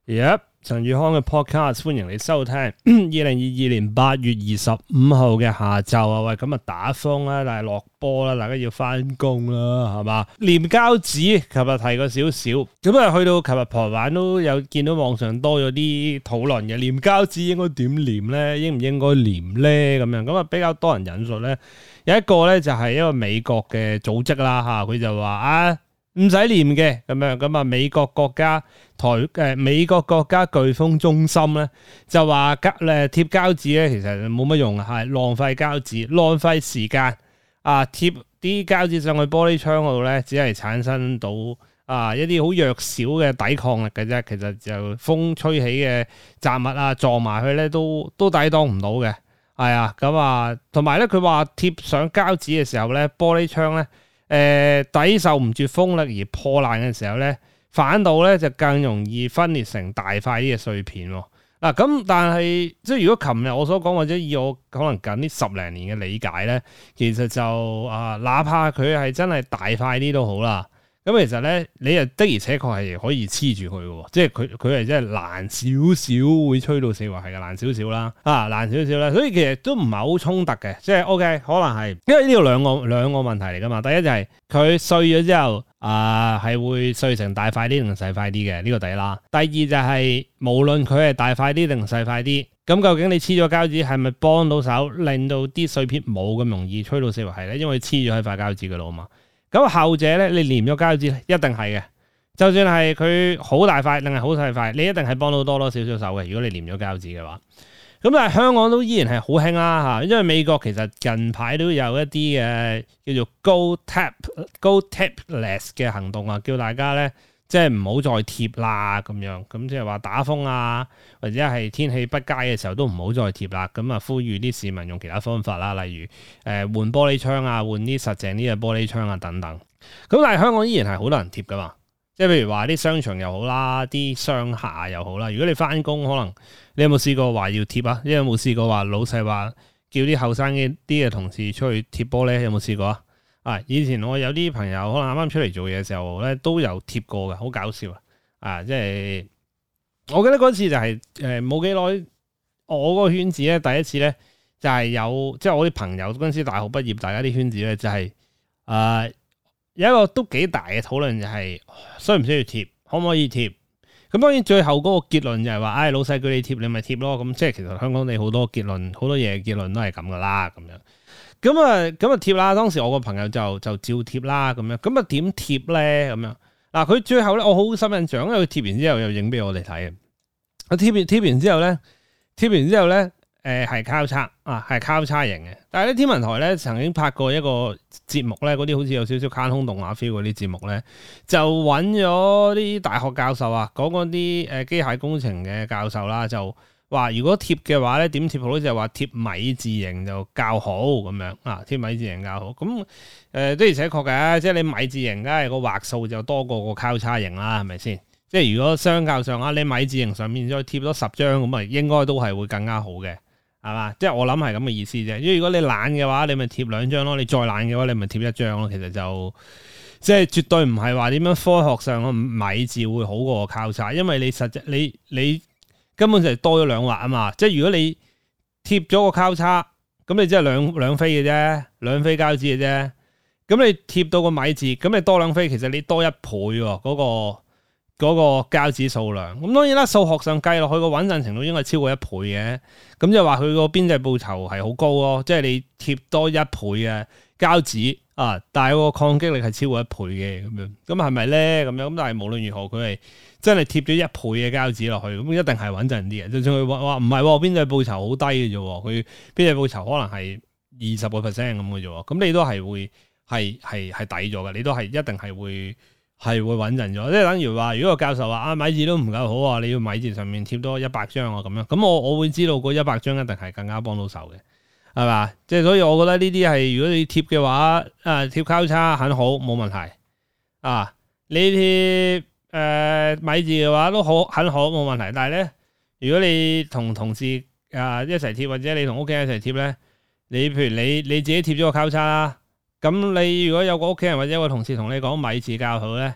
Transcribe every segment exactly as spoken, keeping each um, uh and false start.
Yep， 陳宇康嘅 podcast， 歡迎你收聽。二零二二年八月二十五號嘅下晝啊，喂，咁啊打風啦，但係落波啦，大家要翻工啦，係嘛？黏膠紙，琴日提過少少，咁啊去到琴日傍晚都有見到網上多咗啲討論嘅，黏膠紙應該點黏咧？應唔應該黏咧？咁樣咁啊比較多人引述咧，有一個咧就係一個美國嘅組織啦嚇，佢就話啊。唔使黏嘅咁樣，咁啊美國國家台誒、呃、美國國家颶風中心咧就話膠誒貼膠紙咧其實冇乜用，係浪費膠紙、浪費時間啊！貼啲膠紙上去玻璃窗嗰度咧，只係產生到啊一啲好弱小嘅抵抗力嘅啫。其實就風吹起嘅雜物啊撞埋去咧都都抵擋唔到嘅。係啊，咁啊同埋咧佢話貼上膠紙嘅時候咧，玻璃窗咧。誒、呃、抵受唔住風力而破爛嘅時候咧，反倒咧就更容易分裂成大塊啲嘅碎片喎。嗱、啊、咁，但係即係如果琴日我所講，或者以我可能近呢十零年嘅理解咧，其實就啊，哪怕佢係真係大塊啲都好啦。咁其實咧，你又的而且確係可以黐住佢嘅，即係佢佢係真係爛少少，會吹到四圍係嘅爛少少啦，啊爛少少啦，所以其實都唔係好衝突嘅，即係 OK， 可能係因為呢度兩個兩個問題嚟噶嘛，第一就係佢碎咗之後啊係、呃、會碎成大塊啲定細塊啲嘅呢個第一啦，第二就係、是、無論佢係大塊啲定細塊啲，咁究竟你黐咗膠紙係咪幫到手令到啲碎片冇咁容易吹到四圍係咧？因為黐咗喺塊膠紙嘅度嘛。咁後者咧，你黏咗膠紙咧，一定係嘅。就算係佢好大塊定係好細塊，你一定係幫到多多少少手嘅。如果你黏咗膠紙嘅話，咁但係香港都依然係好興啦嚇，因為美國其實近排都有一啲嘅叫做 Go Tap Go Tapless 嘅行動啊，叫大家咧即係唔好再貼啦咁樣。咁即係話打風啊，或者係天氣不佳嘅時候都唔好再貼啦。咁啊，呼籲啲市民用其他方法啦，例如誒、呃、換玻璃窗啊，換啲實淨啲嘅玻璃窗啊等等。咁但係香港依然係好多人貼噶嘛，即係譬如話啲商場又好啦，啲商廈又好啦。如果你翻工，可能你有冇試過話要貼啊？你有冇試過話老細話叫啲後生啲嘅同事出去貼玻璃？有冇試過啊？啊！以前我有啲朋友可能啱啱出嚟做嘢嘅時候咧，都有貼過嘅，好搞笑啊！啊，即係我記得嗰次就係誒冇幾耐，我嗰個圈子咧第一次咧就係、是、有即係我啲朋友嗰陣時大學畢業，大家啲圈子咧就係、是、誒、呃、有一個都幾大嘅討論，就係需唔需要貼，可唔可以貼？咁當然最後嗰個結論就係話，唉、哎、老細叫你貼，你咪貼咯。咁即係其實香港你好多結論，好多嘢結論都係咁噶啦，咁樣。咁啊，咁啊貼啦！當時我個朋友就就照貼啦，咁樣咁啊點貼咧？咁樣嗱，佢最後咧，我好深印象，因為佢貼完之後又影俾我哋睇嘅。我貼完貼完之後咧，貼完之後咧，誒係交叉啊，係交叉型嘅。但係咧，天文台咧曾經拍過一個節目咧，嗰啲好似有少少卡通動畫 feel 嗰啲節目咧，就揾咗啲大學教授啊，講嗰啲誒機械工程嘅教授啦，就。話如果貼嘅話咧，點貼好咧？就係話貼米字形就較好咁樣啊，貼米字形較好。咁誒的而且確嘅，即係你米字形，梗係個畫數就多過個交叉形啦，係咪先？即係如果相較上啊，你米字形上面再貼多十張咁啊，應該都係會更加好嘅，係嘛？即係我諗係咁嘅意思啫。因為如果你懶嘅話，你咪貼兩張咯；你再懶嘅話，你咪貼一張咯。其實就即係絕對唔係話點樣科學上個米字會好過個交叉，因為你實際你你。你根本就係多咗兩畫啊嘛，即係如果你貼咗個交叉，咁你即係兩兩飛嘅啫，兩飛膠紙嘅啫。咁你貼到個米字，咁你多兩飛，其實你多一倍喎，嗰個嗰個膠紙數量。咁當然啦，數學上計落去個穩陣程度應該超過一倍嘅。咁就話佢個邊際報酬係好高咯，即係你貼多一倍嘅膠紙啊，但係個抗擊力係超過一倍嘅咁樣。咁係咪咧？咁樣咁但係無論如何，佢係真係貼咗一倍嘅膠紙落去，咁一定係穩陣啲嘅。就算佢話話唔係邊際報酬好低嘅啫，佢邊際報酬可能係二十個 percent 咁嘅啫。咁你都係會係係係抵咗嘅，你都係一定係會係會穩陣咗。即係等於話，如果個教授話啊米字都唔夠好啊，你要米字上面貼多一百張啊咁樣，咁我我會知道嗰一百張一定係更加幫到手嘅。係嘛？即係所以，我覺得呢啲係如果你貼嘅話，啊貼交叉很好，冇問題。啊，你貼誒、呃、米字嘅話都好很好，冇問題。但係咧，如果你同同事啊一齊貼，或者你同屋企人一齊貼咧，你譬如你你自己貼咗個交叉啦，咁你如果有個屋企人或者有個同事同你講米字較好咧，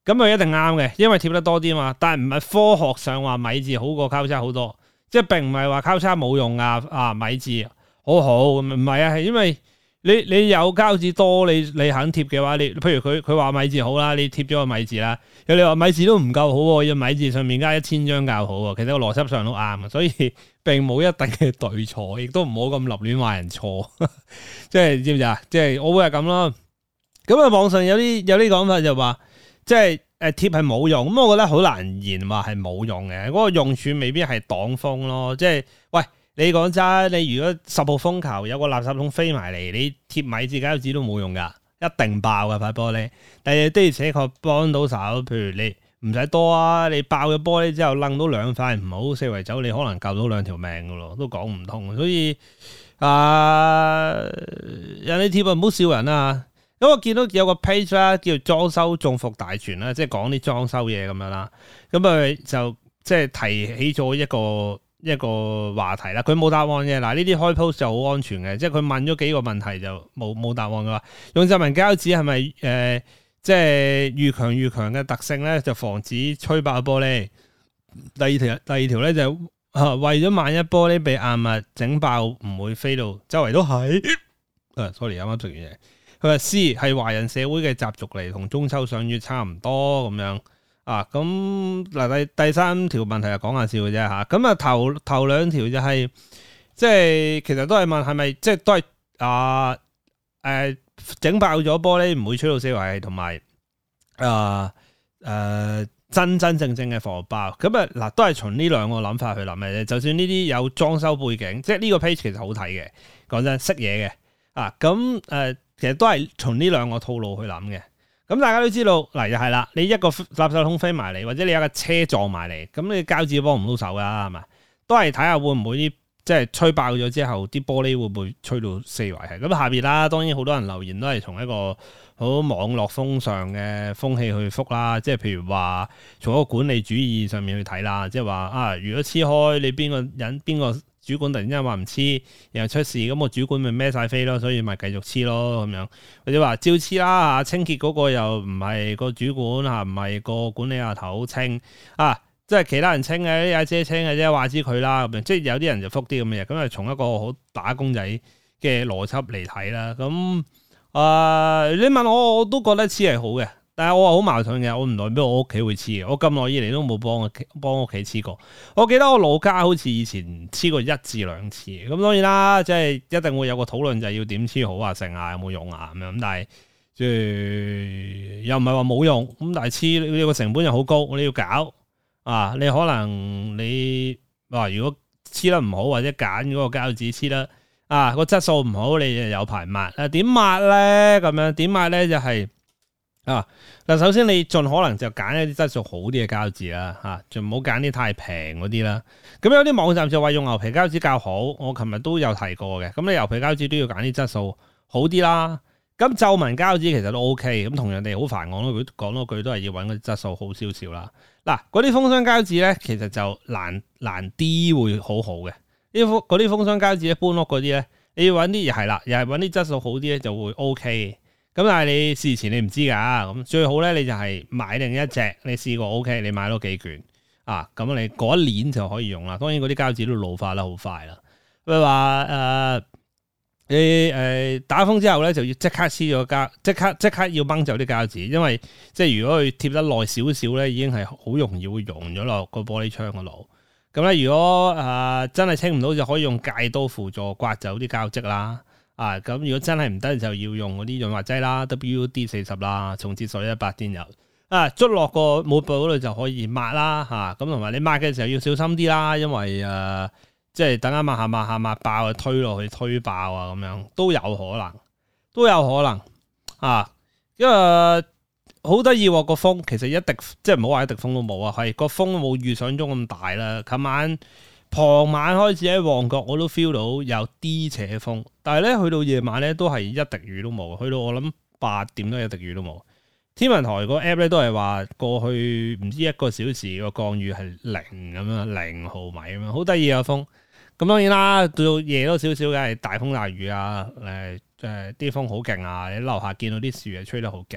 咁佢一定啱嘅，因為貼得多啲嘛。但係唔係科學上話米字好過交叉好多，即係並唔係話交叉冇用啊啊米字好好咁，唔係啊，係因為你你有膠紙多，你你肯貼嘅話，你譬如佢佢話米字好啦，你貼咗個米字啦，有你話米字都唔夠好，要米字上面加一千張較好，其實個邏輯上都啱，所以並冇一定嘅對錯，亦都唔好咁立亂話人錯，即係知唔知啊？即係我會係咁咯。咁啊，網上有啲有啲講法就話，即係誒貼係冇用，咁我覺得好難言話係冇用嘅，嗰個用處未必係擋風咯，即係喂。你講真，你如果十號風球有個垃圾桶飛埋嚟，你貼米字膠紙都冇用噶，一定爆噶塊玻璃。但係的而且確幫到手，譬如你唔使多啊，你爆咗玻璃之後掕到兩塊唔好四圍走，你可能救到兩條命噶咯，都講唔通。所以啊，人哋貼啊唔好笑人啊。咁我見到有個 page 啦，叫裝修中伏大全啦，即係講啲裝修嘢咁樣啦。咁佢就即係提起咗一個。一個話題啦，佢冇答案嘅。嗱，呢啲開 post 就好安全嘅，即係佢問咗幾個問題就冇冇答案嘅話，用皺紋膠紙係咪誒即係越強越強嘅特性咧，就防止吹爆玻璃。第二條第二條咧就係啊，為咗萬一玻璃被硬物整爆，唔會飛到周圍都係。誒，sorry，啱啱食完嘢。佢話 C 係華人社會嘅習俗嚟，同中秋賞月差唔多咁樣。啊，咁嗱，第第三條問題就講下笑嘅啫吓，咁啊頭頭兩條就係、是、即係其實都係問係咪即係都係啊誒整爆咗玻璃唔會吹到四圍，同埋啊誒真真正正嘅防爆，咁啊嗱都係從呢兩個諗法去諗嘅啫。就算呢啲有裝修背景，即係呢個 page 其實好睇嘅，講真識嘢嘅啊，咁誒、呃、其實都係從呢兩個套路去諗嘅。咁大家都知道，嗱又係啦，你一個垃圾桶飛埋嚟，或者你有架車撞埋嚟，咁你膠紙幫唔到手噶，係咪？都係睇下會唔會啲即係吹爆咗之後，啲玻璃會唔會吹到四圍係？咁下邊啦，當然好多人留言都係從一個好網絡風尚嘅風氣去覆啦，即係譬如話從一個管理主義上面去睇啦，即係話啊，如果黐開你邊個人邊個主管突然之間話唔黐，然後出事，咁我主管咪孭晒飛咯，所以咪繼續黐咯咁樣，或者話照黐啦嚇，清潔嗰個又唔係個主管嚇，唔係個管理阿頭清啊，即係其他人清嘅，啲阿姐清嘅啫，話知佢啦咁樣，即係有啲人就覆啲咁嘅嘢，咁啊從一個好打工仔嘅邏輯嚟睇啦，咁啊、呃、你問我我都覺得黐係好嘅。但係我話好矛盾嘅，我唔代表我屋企會黐嘅，我咁耐以嚟都冇幫我幫屋企黐過。我記得我老家好似以前黐過一至兩次，咁當然啦，即係一定會有個討論就係要點黐好啊，成啊有冇用啊咁樣。咁但係即係又唔係話冇用，咁但係黐你個成本又好高，你要搞啊，你可能你話如果黐得唔好或者揀嗰個膠紙黐得啊個質素唔好，你就有排抹啊？點抹咧？咁樣點抹咧就係、是。啊嗱，首先你盡可能就揀一啲質素好啲嘅膠紙啦，吓，就唔好揀啲太平嗰啲啦。咁有啲網站就話用牛皮膠紙較好，我琴日都有提過嘅。咁你牛皮膠紙都要揀啲質素好啲啦。咁皺紋膠紙其實都 OK，咁同樣地好煩，講多句講多句都係要揾嗰啲質素好少少啦。嗱，嗰啲封箱膠紙咧，其實就難難啲會好好嘅。呢嗰啲封箱膠紙搬屋嗰啲咧，你要揾啲又係啦，又係揾啲質素好啲咧就會 OK。咁但係你事前你唔知㗎，咁最好咧你就係買另一隻，你試過 OK，你買多幾卷啊，咁你嗰一年就可以用啦。當然嗰啲膠紙都老化得好快啦。譬如話誒，你誒、呃、打風之後咧就要即刻黐咗膠，即刻即刻要掹走啲膠紙，因為即係如果佢貼得耐少少咧，已經係好容易會溶咗落個玻璃窗嗰度。咁咧如果誒、呃、真係清唔到，就可以用戒刀輔助刮走啲膠漬啦。啊，咁如果真係唔得，就要用嗰啲潤滑劑啦 ，W D 四十啦，重節水一百電油啊，捽落個抹布嗰度就可以抹啦，吓，咁同埋你抹嘅時候要小心啲啦，因為誒、呃，即係等下抹下抹下抹爆啊，推落去推爆啊，咁樣都有可能，都有可能啊，因為好得意喎個風，其實一滴即係唔好話一滴風都冇啊，係個風冇預想中咁大啦，琴晚。傍晚開始喺旺角我都 feel 到有啲扯風，但係咧去到夜晚咧都係一滴雨都冇，去到我諗八點都一滴雨都冇。天文台個 app 咧都係話過去唔知一個小時個降雨係零咁樣，零毫米咁樣，好得意啊風。咁當然啦，到夜多少少嘅係大風大雨啊，誒誒啲風好勁啊，你樓下見到啲樹係吹得好勁。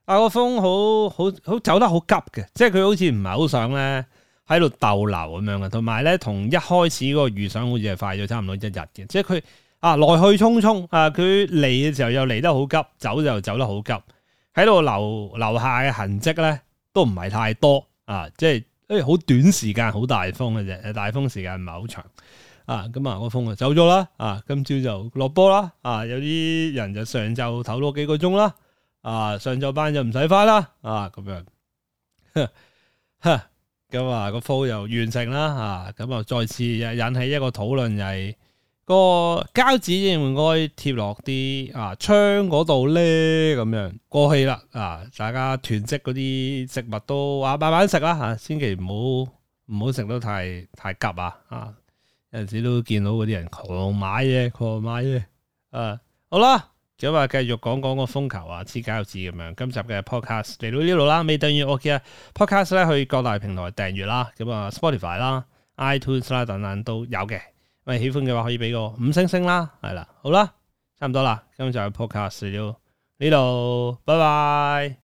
啊個風好好好走得好急嘅，即係佢好似唔係好想咧喺度逗留咁樣嘅，同埋咧同一開始嗰個預想好似係快咗差唔多一日嘅，即係佢啊來去匆匆啊，佢嚟嘅時候又嚟得好急，走就走得好急，喺度留留下嘅痕跡咧都唔係太多啊，即係誒好短時間好大風嘅啫，大風時間唔係好長。啊，咁啊，個風就走咗啦，啊，今朝就落波啦，啊，有啲人就上晝唞多幾個鐘啦，啊，上晝班就唔使翻啦，啊，咁樣，咁啊個 flow 又完成啦，啊，咁啊再次引起一個討論，就係個膠紙應唔應該貼落啲啊窗嗰度咧？咁樣過去啦，啊，大家囤積嗰啲食物都啊慢慢食啦，吓，千祈唔好唔好食得太太急啊，啊！有陣時都見到嗰啲人狂買嘢，狂買嘢。啊，好啦，咁啊，繼續講講個風球啊，黐膠紙咁樣。今集嘅 podcast 嚟到呢度啦，未訂閱我嘅 podcast 咧，去各大平台訂閱啦。咁啊，Spotify 啦、iTunes 啦等等都有嘅。咁喜歡嘅話可以俾個五星星啦，係啦，好啦，差唔多啦。今集嘅 podcast 嚟到呢度，拜拜。